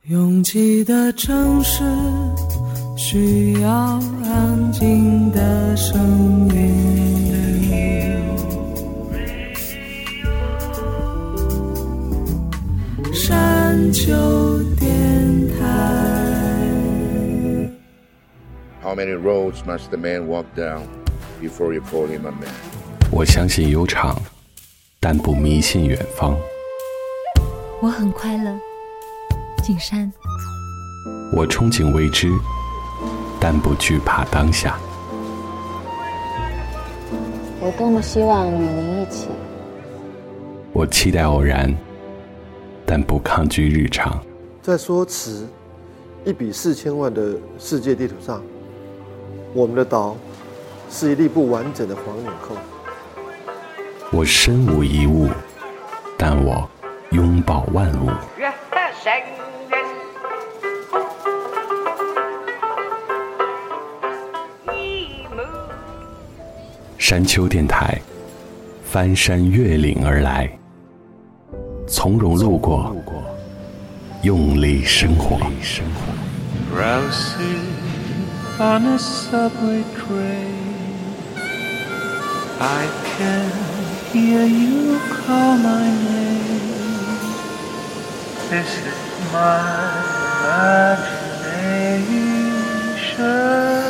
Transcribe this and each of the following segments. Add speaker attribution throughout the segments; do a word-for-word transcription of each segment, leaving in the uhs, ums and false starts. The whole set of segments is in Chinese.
Speaker 1: 拥挤的城市需要安静的声音，山丘电台。
Speaker 2: How many roads must the man walk down before you call him a man?
Speaker 3: 我相信悠长，但不迷信远方。
Speaker 4: 我很快乐，景山。
Speaker 3: 我憧憬未知，但不惧怕当下。
Speaker 5: 我多么希望与您一起。
Speaker 3: 我期待偶然，但不抗拒日常。
Speaker 6: 在说词，一比四千万的世界地图上，我们的岛是一粒不完整的黄纽扣。
Speaker 3: 我身无一物，但我拥抱万物。山丘电台，翻山越岭而来，从容路过，用力生活。
Speaker 7: Drowsy on a subway train, I can hear you call my name. This is my imagination.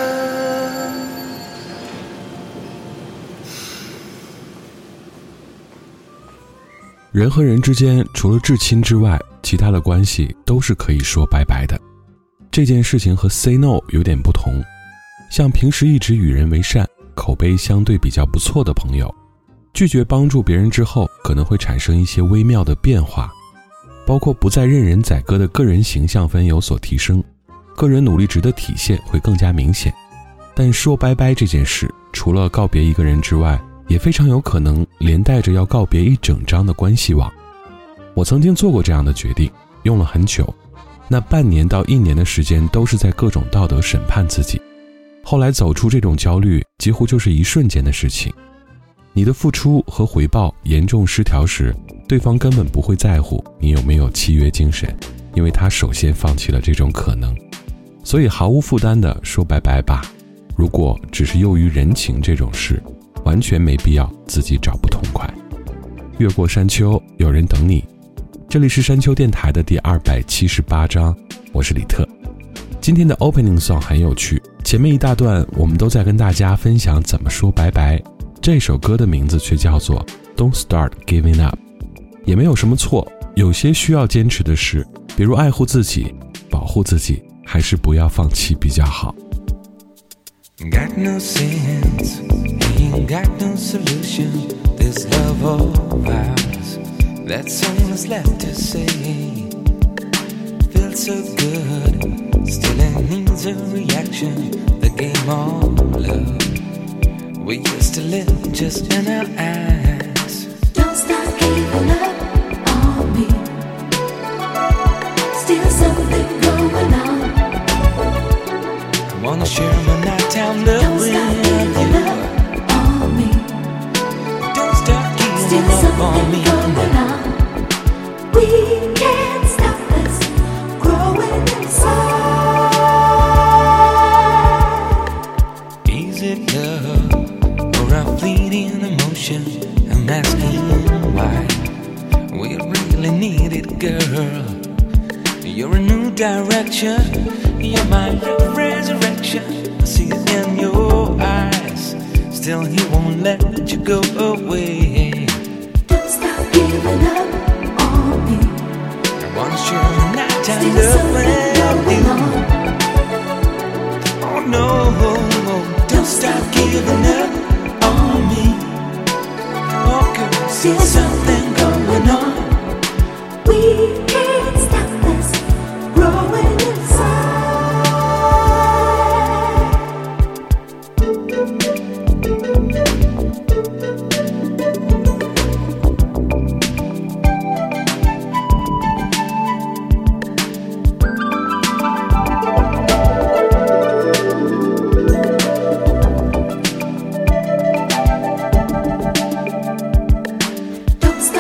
Speaker 8: 人和人之间，除了至亲之外，其他的关系都是可以说拜拜的。这件事情和 say no 有点不同，像平时一直与人为善，口碑相对比较不错的朋友，拒绝帮助别人之后，可能会产生一些微妙的变化，包括不再任人宰割的个人形象分有所提升，个人努力值的体现会更加明显。但说拜拜这件事，除了告别一个人之外，也非常有可能连带着要告别一整张的关系网。我曾经做过这样的决定，用了很久，那半年到一年的时间都是在各种道德审判自己。后来走出这种焦虑，几乎就是一瞬间的事情。你的付出和回报严重失调时，对方根本不会在乎你有没有契约精神，因为他首先放弃了这种可能。所以毫无负担地说拜拜吧。如果只是囿于人情这种事，完全没必要自己找不痛快。越过山丘，有人等你。这里是山丘电台的第二百七十八章，我是李特。今天的 opening song 很有趣，前面一大段我们都在跟大家分享怎么说拜拜，这首歌的名字却叫做 Don't Start Giving Up。 也没有什么错，有些需要坚持的事，比如爱护自己，保护自己，还是不要放弃比较好。
Speaker 7: Got no sense, ain't got no solution. This love of ours, that's all that's left to say. Feels so good, still it needs a reaction. The game of love, we used to live just in our eyes.
Speaker 9: Don't stop giving up on me. Still something going on.
Speaker 7: I wanna share my nighttime love with you.
Speaker 9: On me.
Speaker 7: Don't stop giving
Speaker 9: Still
Speaker 7: up on me.
Speaker 9: something going on. We can't stop this growing inside.
Speaker 7: Is it love or a fleeting emotion? I'm asking why. We really need it, girl. You're a new direction. You're my resurrection. I see it in your eyes. Still, he won't let you go away.
Speaker 9: Don't stop giving up on me.
Speaker 7: I wanna share my nighttime
Speaker 9: Still
Speaker 7: love
Speaker 9: something
Speaker 7: with
Speaker 9: going
Speaker 7: you.
Speaker 9: on.
Speaker 7: Oh no, don't stop giving up on me. Oh girl,
Speaker 9: Still
Speaker 7: still something going on.
Speaker 9: We can't stop this growing inside. Don't stop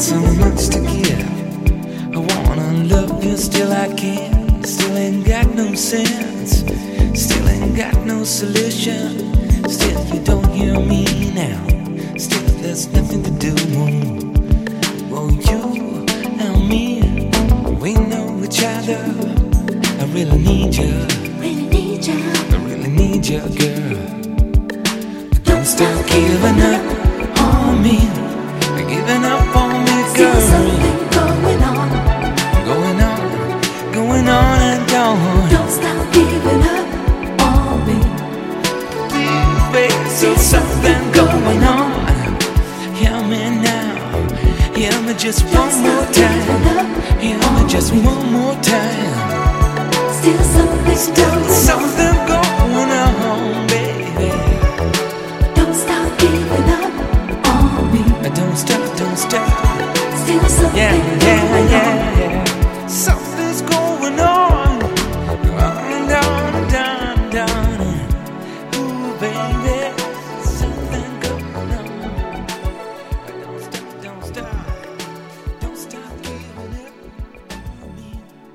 Speaker 7: so much to give. I wanna love you, still I can't. Still ain't got no sense. Still ain't got no solution. Still you don't hear me now. Still there's nothing to do. Oh, you and me, we know each other. I really need you.
Speaker 9: Really need you.
Speaker 7: I really need you, girl. Don't stop giving up on me. Giving up on me, girl.
Speaker 9: Still something going on.
Speaker 7: Going on, going on and on.
Speaker 9: Don't stop giving up on me.
Speaker 7: Baby, still something going on. Hear me now. Hear me just one more time. Hear me just one more time.
Speaker 9: Still something
Speaker 7: Still something going on, baby.
Speaker 9: Don't stop giving up on me.
Speaker 7: Don't stop, don't stop.
Speaker 9: Still something
Speaker 7: Yeah, yeah,
Speaker 9: going
Speaker 7: yeah,
Speaker 9: on.
Speaker 7: yeah. Something's going on. On, down, down, down. Ooh, baby. Something going on. Don't stop, don't stop. Don't stop giving up on me.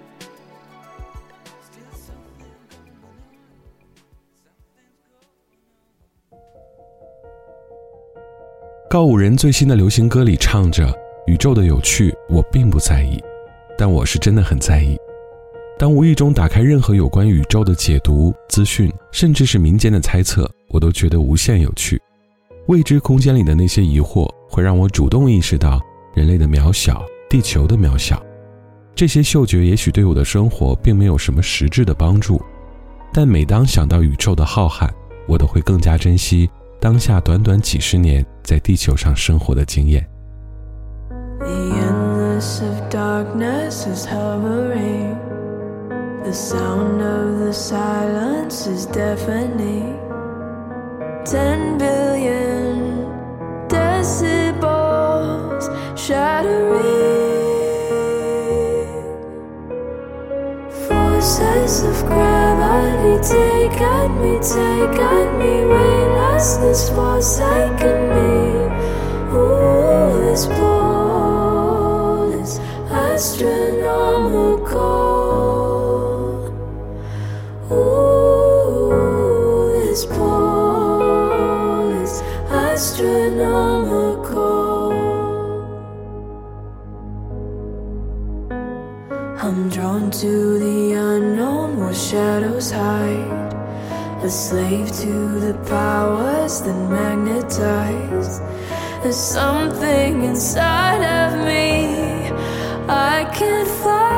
Speaker 7: Still something going on. Something's going on.
Speaker 8: 告五人最新的流行歌里唱着，宇宙的有趣我并不在意，但我是真的很在意。当无意中打开任何有关宇宙的解读、资讯，甚至是民间的猜测，我都觉得无限有趣。未知空间里的那些疑惑，会让我主动意识到人类的渺小，地球的渺小。这些嗅觉也许对我的生活并没有什么实质的帮助，但每当想到宇宙的浩瀚，我都会更加珍惜当下短短几十年在地球上生活的经验。
Speaker 1: The endless of darkness is hovering. The sound of the silence is deafening. Ten billion decibels shattering. Forces of gravity take at me, take at me. Weightlessness forsaken me. Ooh, this pull is astronomical. Ooh, this pull is astronomical. I'm drawn to the unknown where shadows hide, a slave to the powers that magnetize. There's something inside of me I can't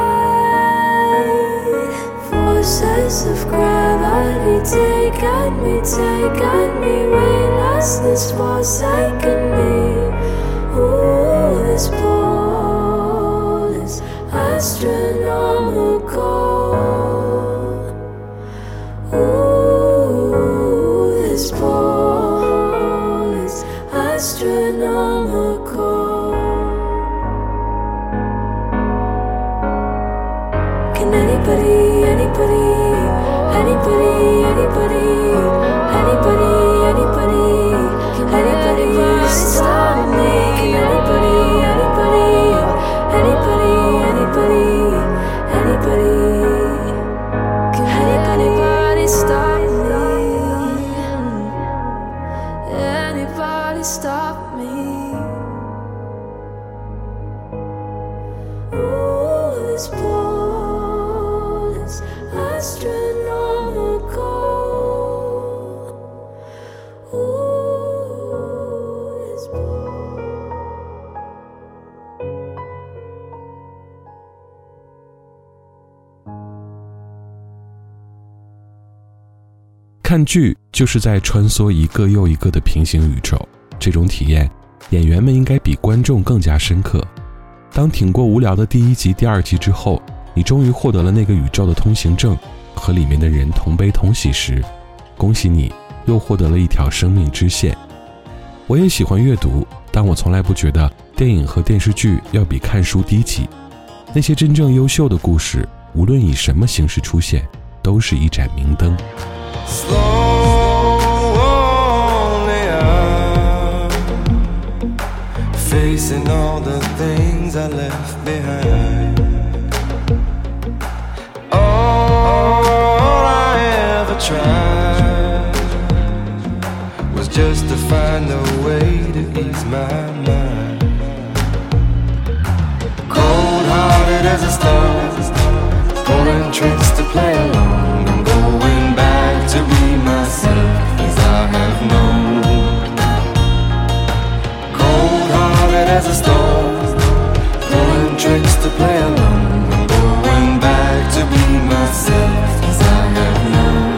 Speaker 1: fight. Forces of gravity take at me, take at me. Weightlessness forsaken me. Ooh, this pull is astronomical. Ooh, this pull is astronomical. Can anybody, anybody, anybody, anybody, anybody, anybody, can anybody stop me? Can anybody, anybody, anybody, anybody, anybody, can anybody stop me? Anybody stop me? Ooh, this pull is astronomical. Ooh, this pull.
Speaker 8: 看剧就是在穿梭一个又一个的平行宇宙，这种体验，演员们应该比观众更加深刻。当挺过无聊的第一集、第二集之后，你终于获得了那个宇宙的通行证，和里面的人同悲同喜时，恭喜你，又获得了一条生命支线。我也喜欢阅读，但我从来不觉得电影和电视剧要比看书低级。那些真正优秀的故事，无论以什么形式出现，都是一盏明灯。
Speaker 1: Slowly I'm fading
Speaker 10: facing all the things I left behind. All I ever tried was just to find a way to ease my mind. Cold-hearted as a star, pulling tricks to play along. I'm going back to be myself as I have known. Cold-hearted as a storm, pulling tricks to play along. I'm going back to be myself as I have known.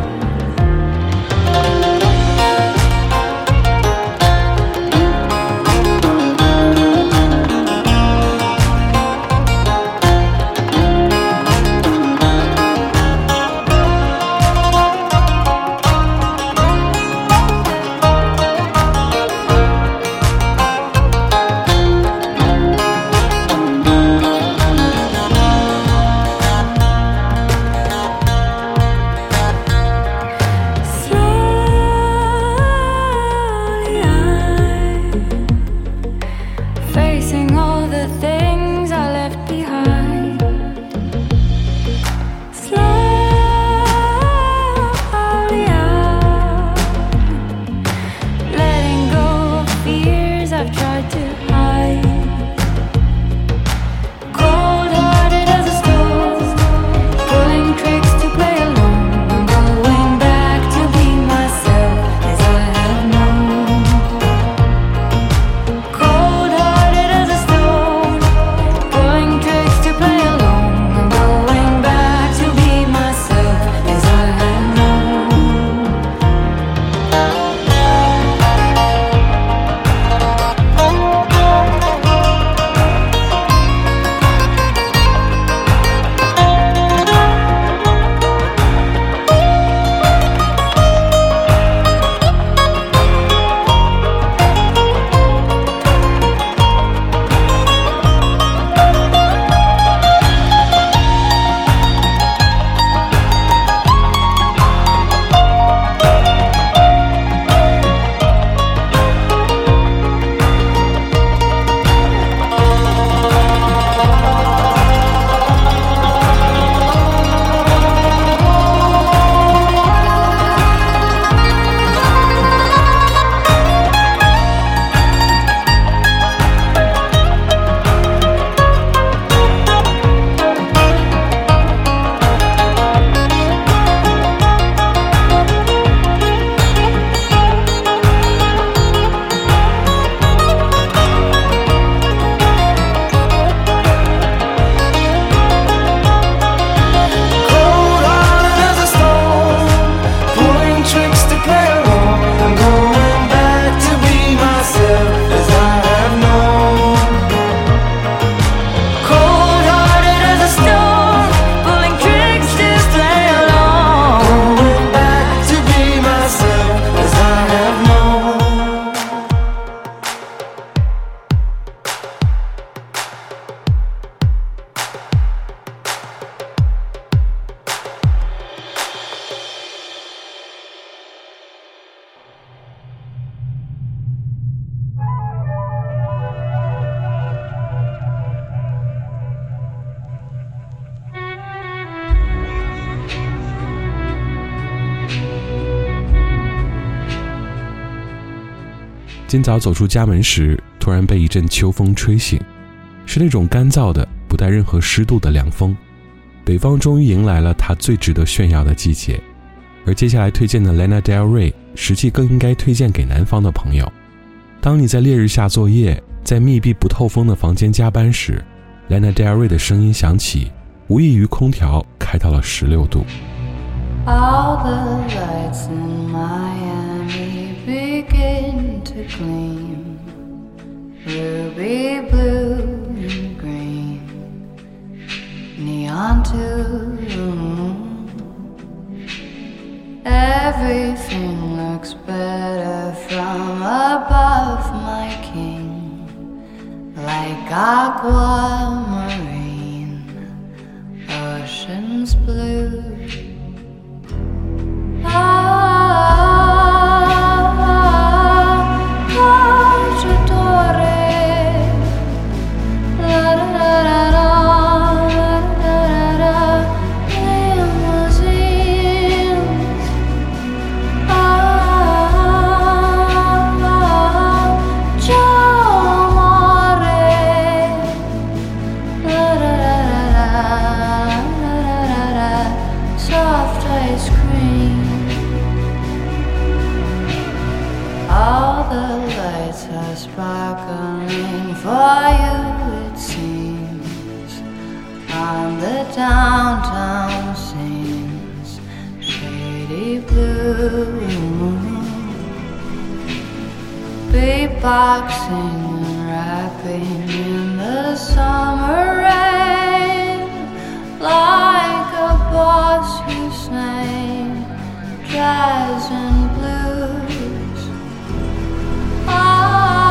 Speaker 8: 今早走出家门时，突然被一阵秋风吹醒，是那种干燥的不带任何湿度的凉风。北方终于迎来了它最值得炫耀的季节，而接下来推荐的 Lana Del Rey 实际更应该推荐给南方的朋友。当你在烈日下作业，在密闭不透风的房间加班时， Lana Del Rey 的声音响起，无异于空调开到了十六度。
Speaker 11: All the lights in Miami begin to gleam, ruby blue and green, neon to the moon. Everything looks better from above, my king, like aquamarine, oceans blue. Ah, ah, ah, downtown scenes, shady blue, beatboxing and rapping in the summer rain, like a boss who sang jazz and blues. Ah,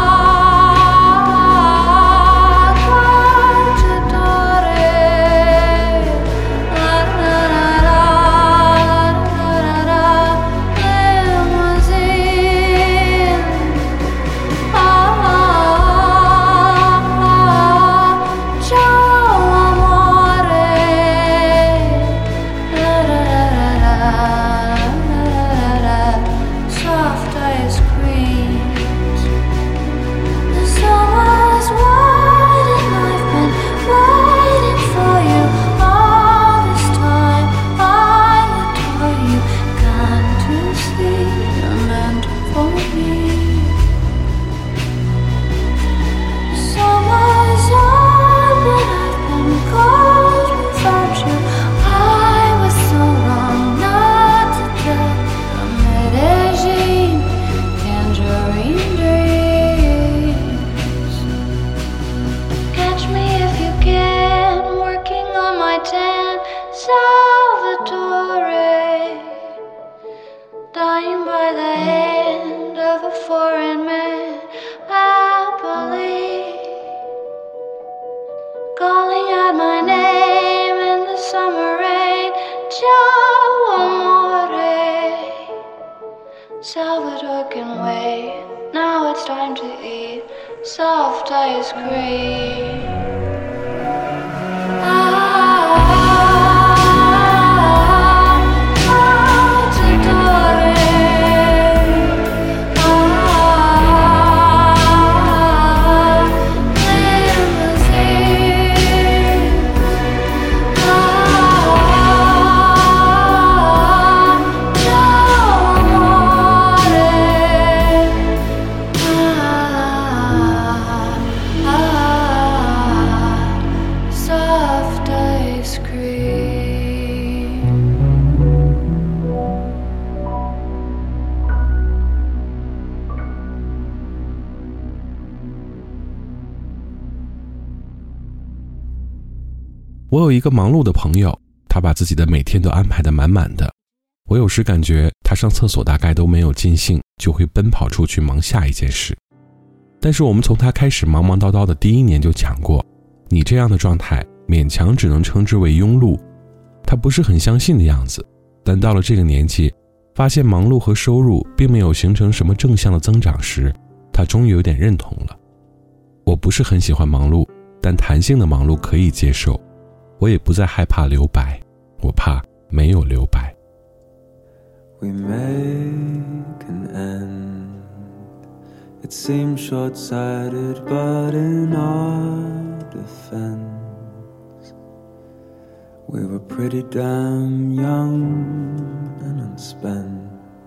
Speaker 11: Salvador can wait. Now it's time to eat soft ice cream.
Speaker 8: 我有一个忙碌的朋友，他把自己的每天都安排得满满的。我有时感觉他上厕所大概都没有尽兴，就会奔跑出去忙下一件事。但是我们从他开始忙忙叨叨的第一年就讲过，你这样的状态勉强只能称之为庸碌。他不是很相信的样子，但到了这个年纪，发现忙碌和收入并没有形成什么正向的增长时，他终于有点认同了。我不是很喜欢忙碌，但弹性的忙碌可以接受。我也不再害怕留白，我怕没有留白。
Speaker 10: We make an end. It seems short-sighted, but in our defense, we were pretty damn young and unspent,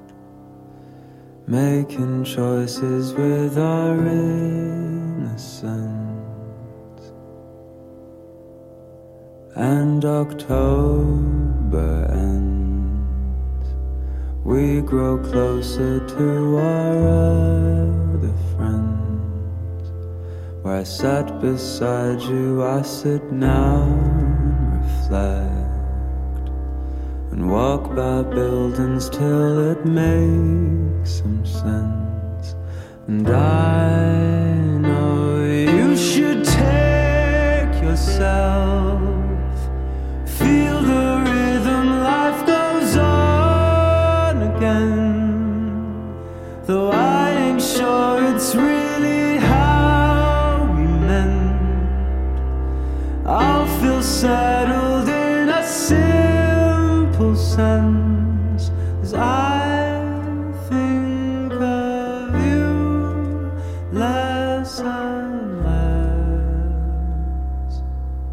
Speaker 10: making choices with our innocence. And October ends, we grow closer to our other friends. Where I sat beside you, I sit now and reflect, and walk by buildings till it makes some sense. And I know you should take yourself, feel the rhythm, life goes on again. Though I ain't sure it's really how we meant, I'll feel settled in a simple sense as I think of you less and less.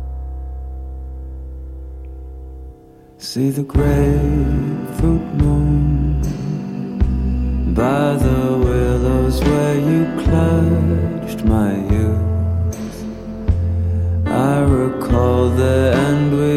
Speaker 10: See the grapefruit moon by the willows where you clutched my youth. I recall the end we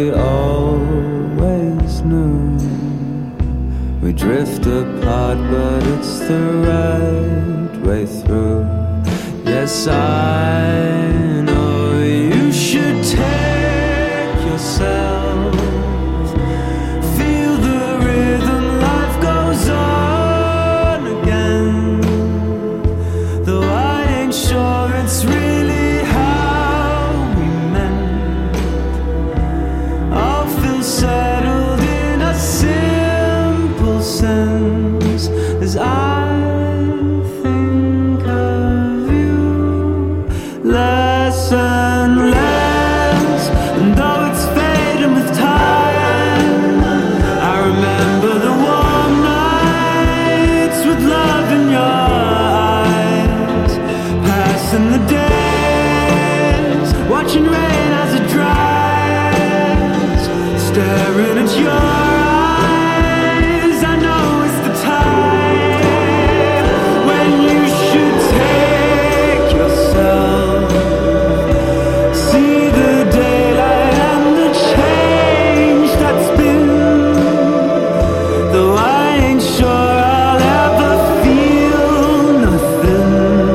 Speaker 10: hard, but it's the right way through. Yes, I know you should take yourself, feel the rhythm, life goes on again. Though I ain't sure it's really how we meant, I'll feel settled in a simple sense as I think of you less and less. And though it's fading with time, I remember the warm nights with love in your eyes, passing the days, watching rain as it dries, staring at your eyes. I know it's the time when you should take yourself, see the daylight and the change that's been. Though I ain't sure I'll ever feel nothing,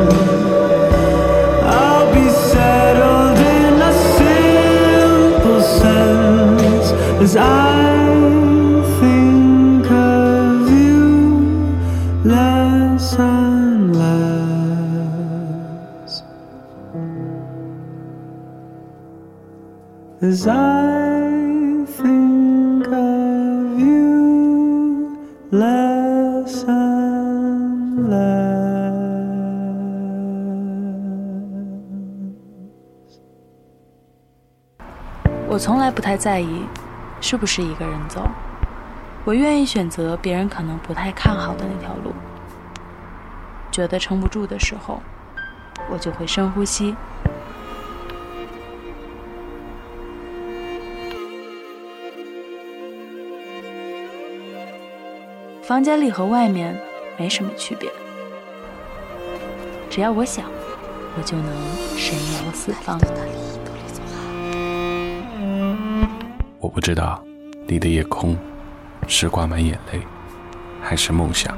Speaker 10: I'll be settled in a simple sense as I think of you less and less, as I think of you less and less。
Speaker 12: 我从来不太在意是不是一个人走，我愿意选择别人可能不太看好的那条路。觉得撑不住的时候，我就会深呼吸。房间里和外面没什么区别，只要我想，我就能神游四方。
Speaker 3: 我不知道你的夜空是挂满眼泪还是梦想，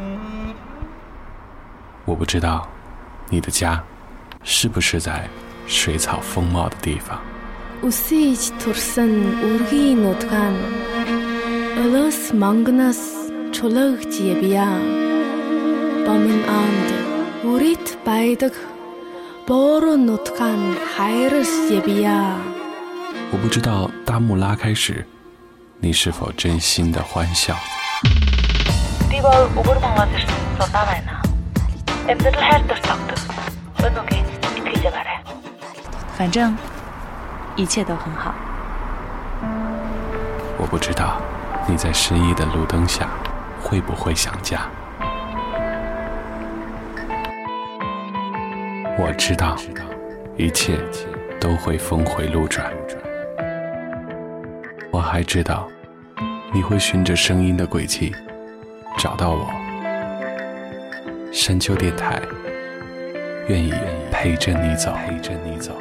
Speaker 3: 我不知道你的家是不是在水草丰茂的地方。
Speaker 13: Үсэж турсан үргийн нутгаан Өлөөс мангнаас чулуугч явъя. Бомын анд үрит байдаг боороо нутгаан хайрс явъя.
Speaker 3: 我不知道大幕拉开时你是否真心的欢笑。
Speaker 14: Би бол өгөр монгол ирсэн судаа байна. Амьдрал хайр дуртагдаг. Өнөөгийн итгэж байгаарай.
Speaker 12: 反正一切都很好。
Speaker 3: 我不知道你在失意的路灯下会不会想家。我知道一切都会峰回路转。我还知道你会循着声音的轨迹找到我。山丘电台愿意陪着你走，陪着你走。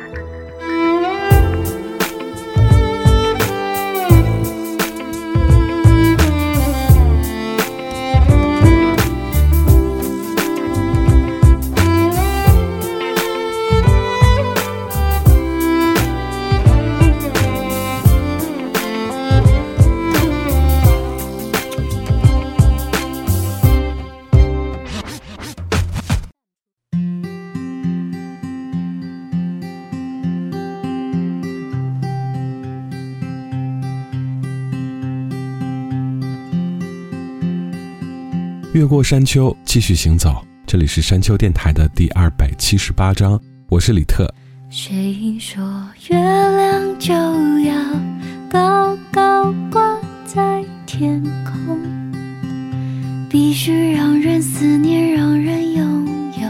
Speaker 8: 越过山丘，继续行走。这里是山丘电台的第二百七十八章，我是李特。
Speaker 1: 谁说月亮就要高高挂在天空，必须让人思念，让人拥有，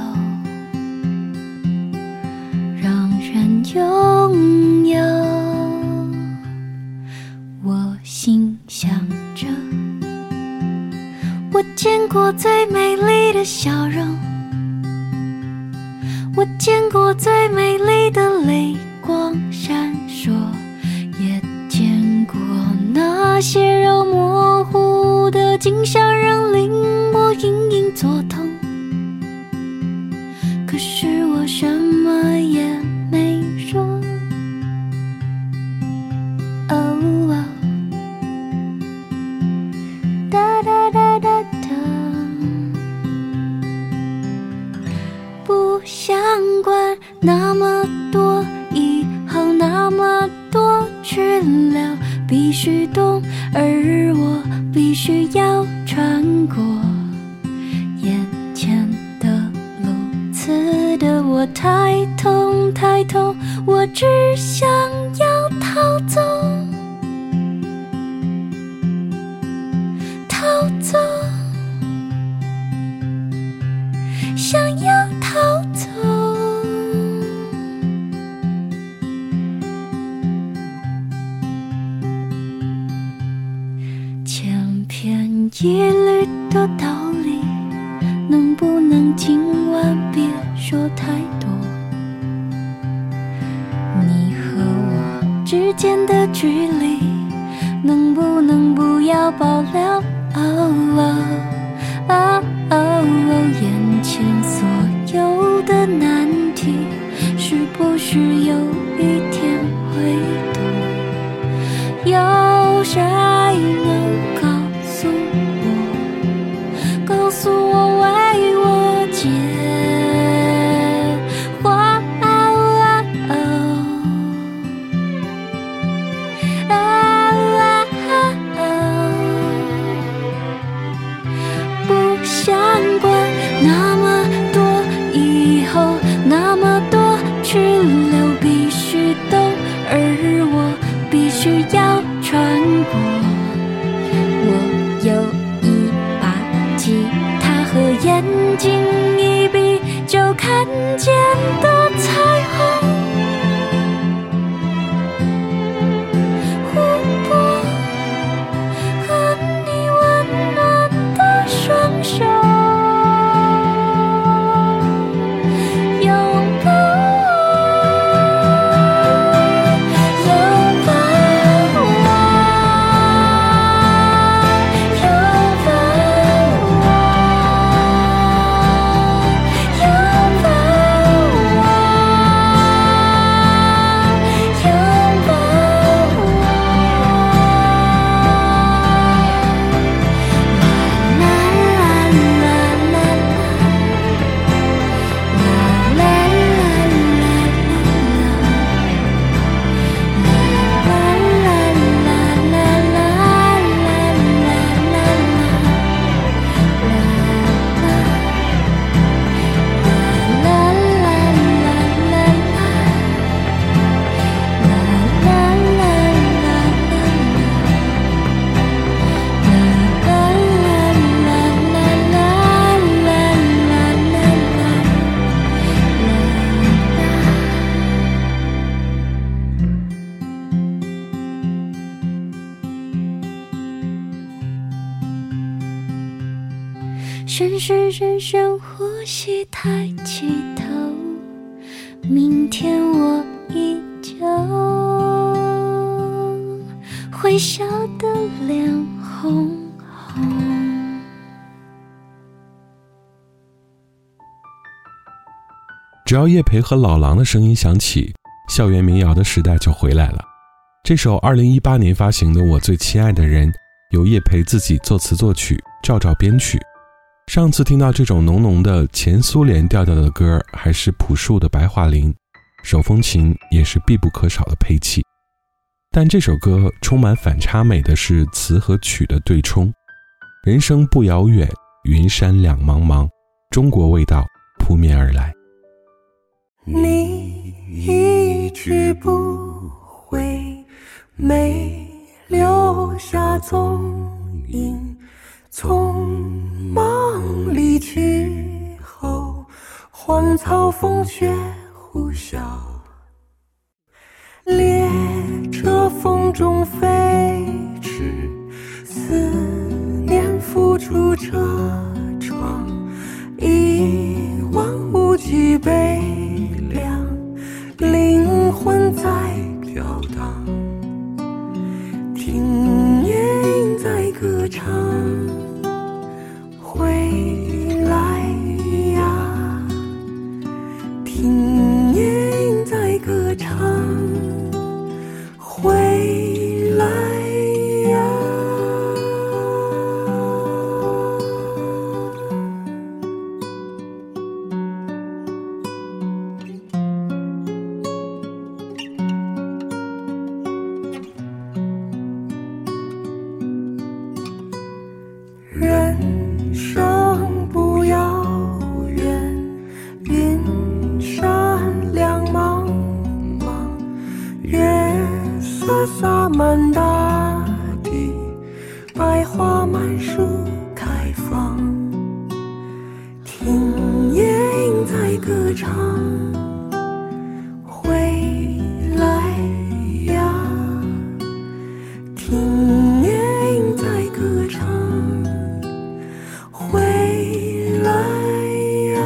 Speaker 1: 让人拥有。我心想着，我见过最美丽的笑容，我见过最美丽的泪光闪烁，也见过那些肉模糊的景象，让令我隐隐必须懂，而我必须要穿过眼前的路。刺得我太痛太痛，我只想要逃走，逃走，想要逃走。千篇一律的道理，能不能今晚别说太多？你和我之间的距离，能不能不要保留？哦哦哦哦，眼前所有的难题，是不是有一天会懂？有谁能告诉我，告诉我为我解惑？不想管那么多以后，那么多去留，必须懂，而我必须要穿过。我有一把吉他和眼睛一闭就看见的彩虹，湖泊和你温暖的双手，拥抱我，拥抱我，拥抱我，拥抱我，拥抱我。深深深深呼吸，抬起头，明天我依旧会笑得脸红红。
Speaker 8: 只要叶培和老狼的声音响起，校园民谣的时代就回来了。这首二零一八年发行的《我最亲爱的人》，由叶培自己作词作曲，赵照编曲。上次听到这种浓浓的前苏联调调的歌，还是朴树的白桦林，手风琴也是必不可少的配器。但这首歌充满反差美的是词和曲的对冲。人生不遥远，云山两茫茫，中国味道扑面而来。
Speaker 9: 你一直不回，没留下踪影，匆忙离去后，荒草风雪呼啸，列车风中飞驰，思念浮出车窗，一望无际悲凉，灵魂在飘荡，听夜莺在歌唱，回来呀，听夜莺在歌唱，回来呀。 月色洒满大地，百花满树开放，听夜莺在歌唱，回来呀，听夜莺在歌唱，回来呀，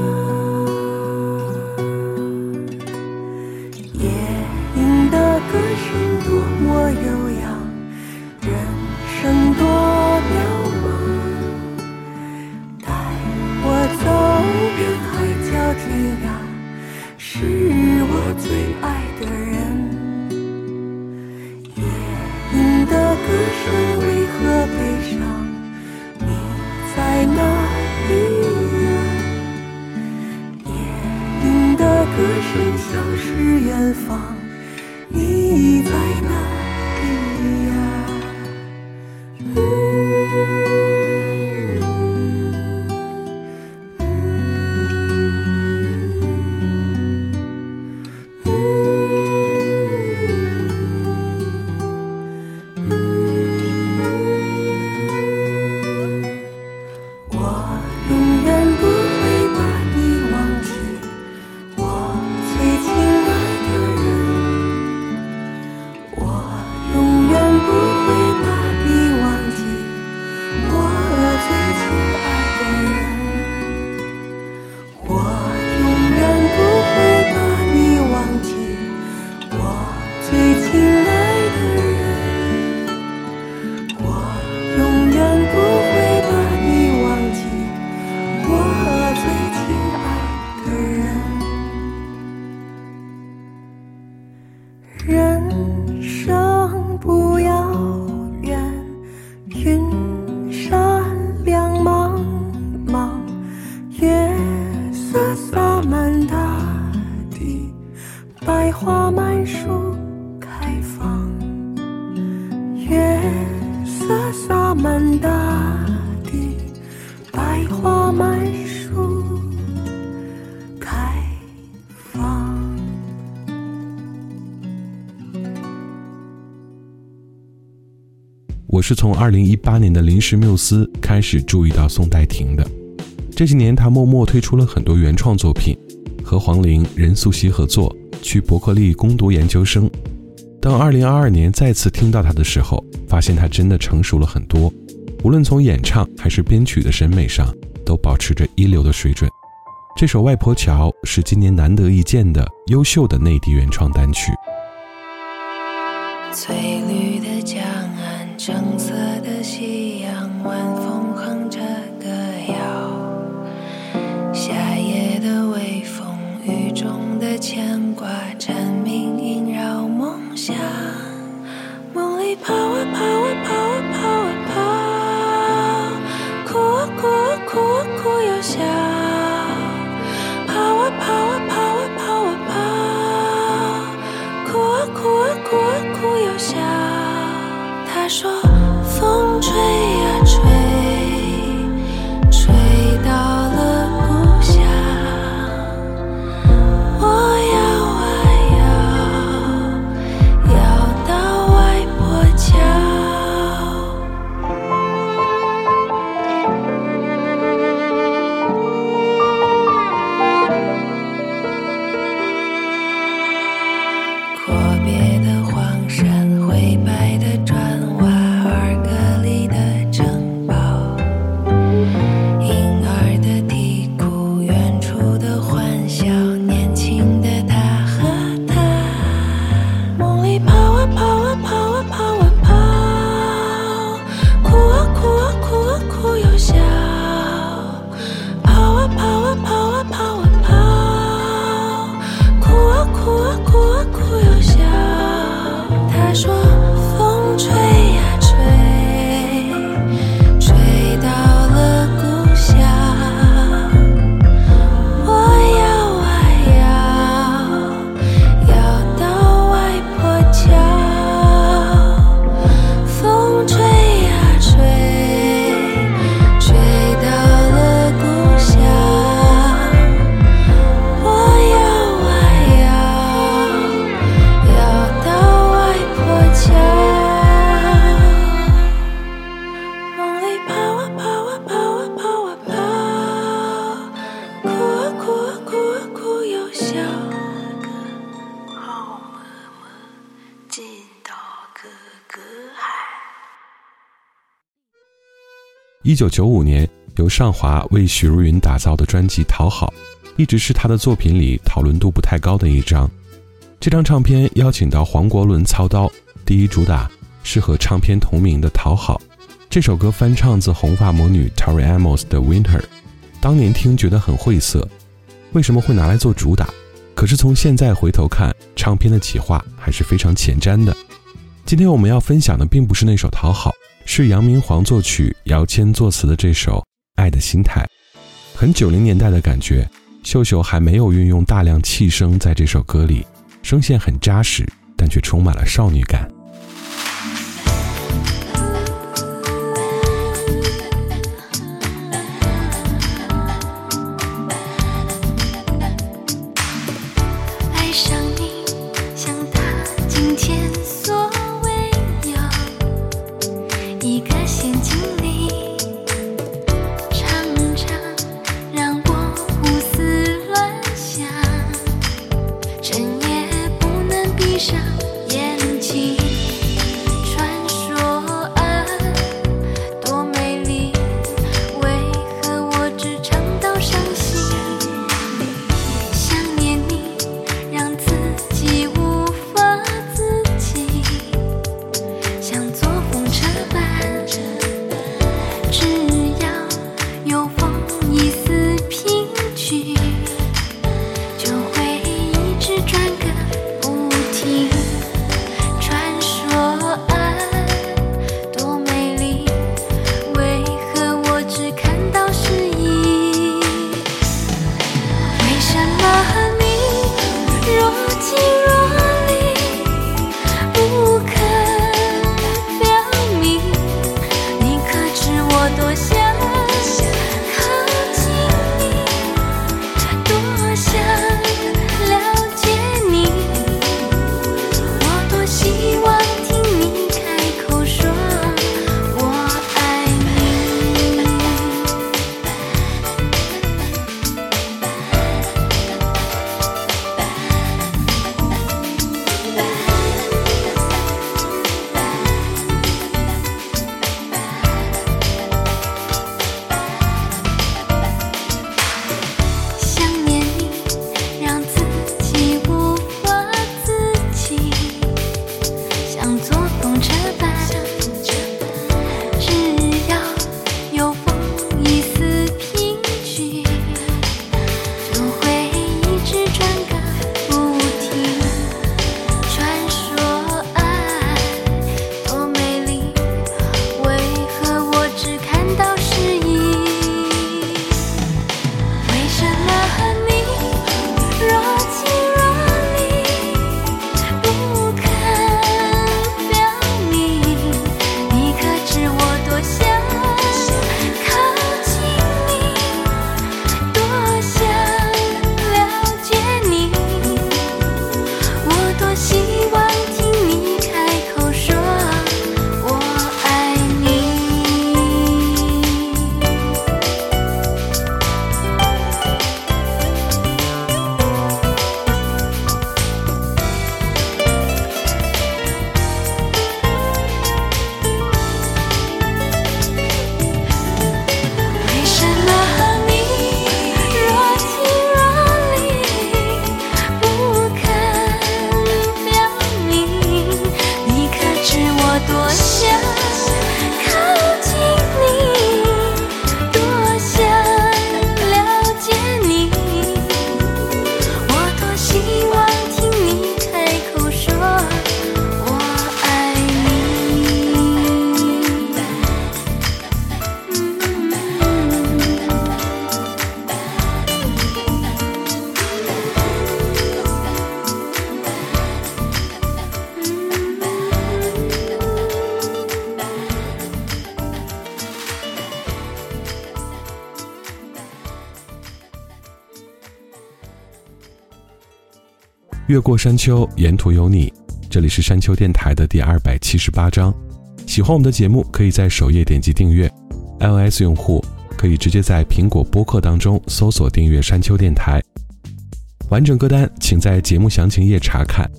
Speaker 9: 夜莺的歌声多么悠扬，人生多渺茫，带我走遍海角天涯，是我最爱的人。夜莺的歌声为何悲伤？你在哪里呀？夜莺的歌声像是远方，你在哪里呀？人生不遥远，云山两茫茫，月色洒满大地，百花满树开放，月色洒满大地，百花满树开放。
Speaker 8: 我是从二零一八年的临时缪斯开始注意到宋代婷的。这几年他默默推出了很多原创作品，和黄龄、任素汐合作，去伯克利攻读研究生。当二零二二年再次听到他的时候，发现他真的成熟了很多，无论从演唱还是编曲的审美上，都保持着一流的水准。这首《外婆桥》是今年难得一见的优秀的内地原创单曲。
Speaker 15: 翠绿的江岸，橙色的夕阳，晚风哼着歌谣，夏夜的微风，雨中的牵挂，蝉鸣萦绕梦乡。梦里跑啊跑啊跑啊跑啊跑，哭啊哭啊哭啊哭又笑，跑啊跑啊跑啊跑啊跑，哭啊哭啊哭啊哭又笑。他说风吹呀吹，吹到了故乡，我摇啊摇， 个海。
Speaker 8: 一九九五年，由上华为许茹芸打造的专辑《讨好》，一直是她的作品里讨论度不太高的一张。这张唱片邀请到黄国伦操刀，第一主打是和唱片同名的《讨好》。这首歌翻唱自红发魔女 Tori Amos 的 Winter， 当年听觉得很晦涩，为什么会拿来做主打？可是从现在回头看，唱片的企划还是非常前瞻的。今天我们要分享的并不是那首《讨好》，是杨明煌作曲、姚谦作词的这首《爱的心态》，很九零年代的感觉。秀秀还没有运用大量气声在这首歌里，声线很扎实，但却充满了少女感。越过山丘，沿途有你。这里是山丘电台的第二百七十八章。喜欢我们的节目，可以在首页点击订阅。iOS 用户可以直接在苹果播客当中搜索订阅山丘电台。完整歌单请在节目详情页查看。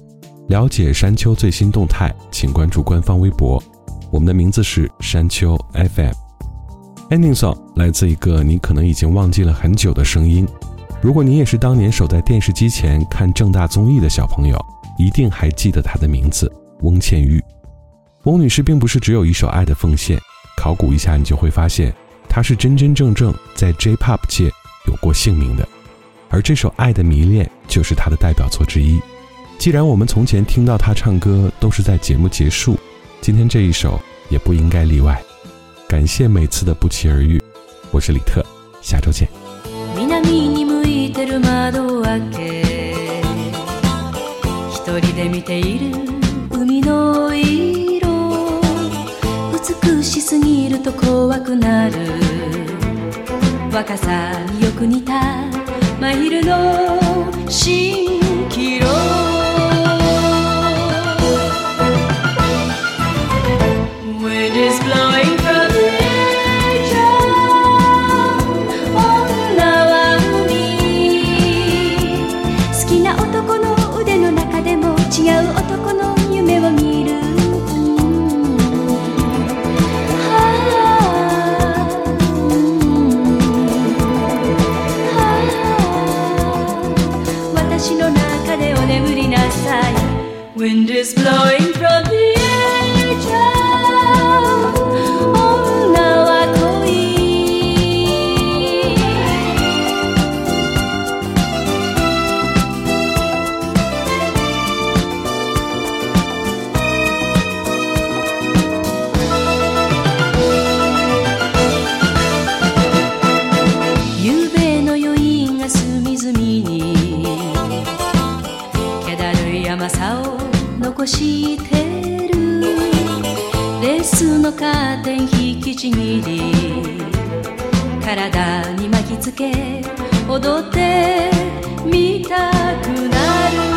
Speaker 8: 了解山丘最新动态，请关注官方微博，我们的名字是山丘 F M。 Ending Song 来自一个你可能已经忘记了很久的声音，如果你也是当年守在电视机前看正大综艺的小朋友，一定还记得她的名字，翁倩玉。翁女士并不是只有一首爱的奉献，考古一下你就会发现她是真真正正在 J-P O P 界有过姓名的，而这首《爱的迷恋》就是她的代表作之一。既然我们从前听到她唱歌都是在节目结束，今天这一首也不应该例外。感谢每次的不期而遇，我是李特，下周见。
Speaker 1: 南に向いてる窓開け、一人で見ている海の色、美しすぎると怖くなる、若さによく似た真昼の蜃気楼。Wind is blowing from the edge of 女は海、好きな男の腕の中でも違う男の夢を見る、私の中でお眠りなさい。 Wind is blowing from the edge of 女は恋、夕べの余韻が隅々に気だるい甘さを残してる、レースのカーテン引きちぎり、体に巻きつけ踊ってみたくなる。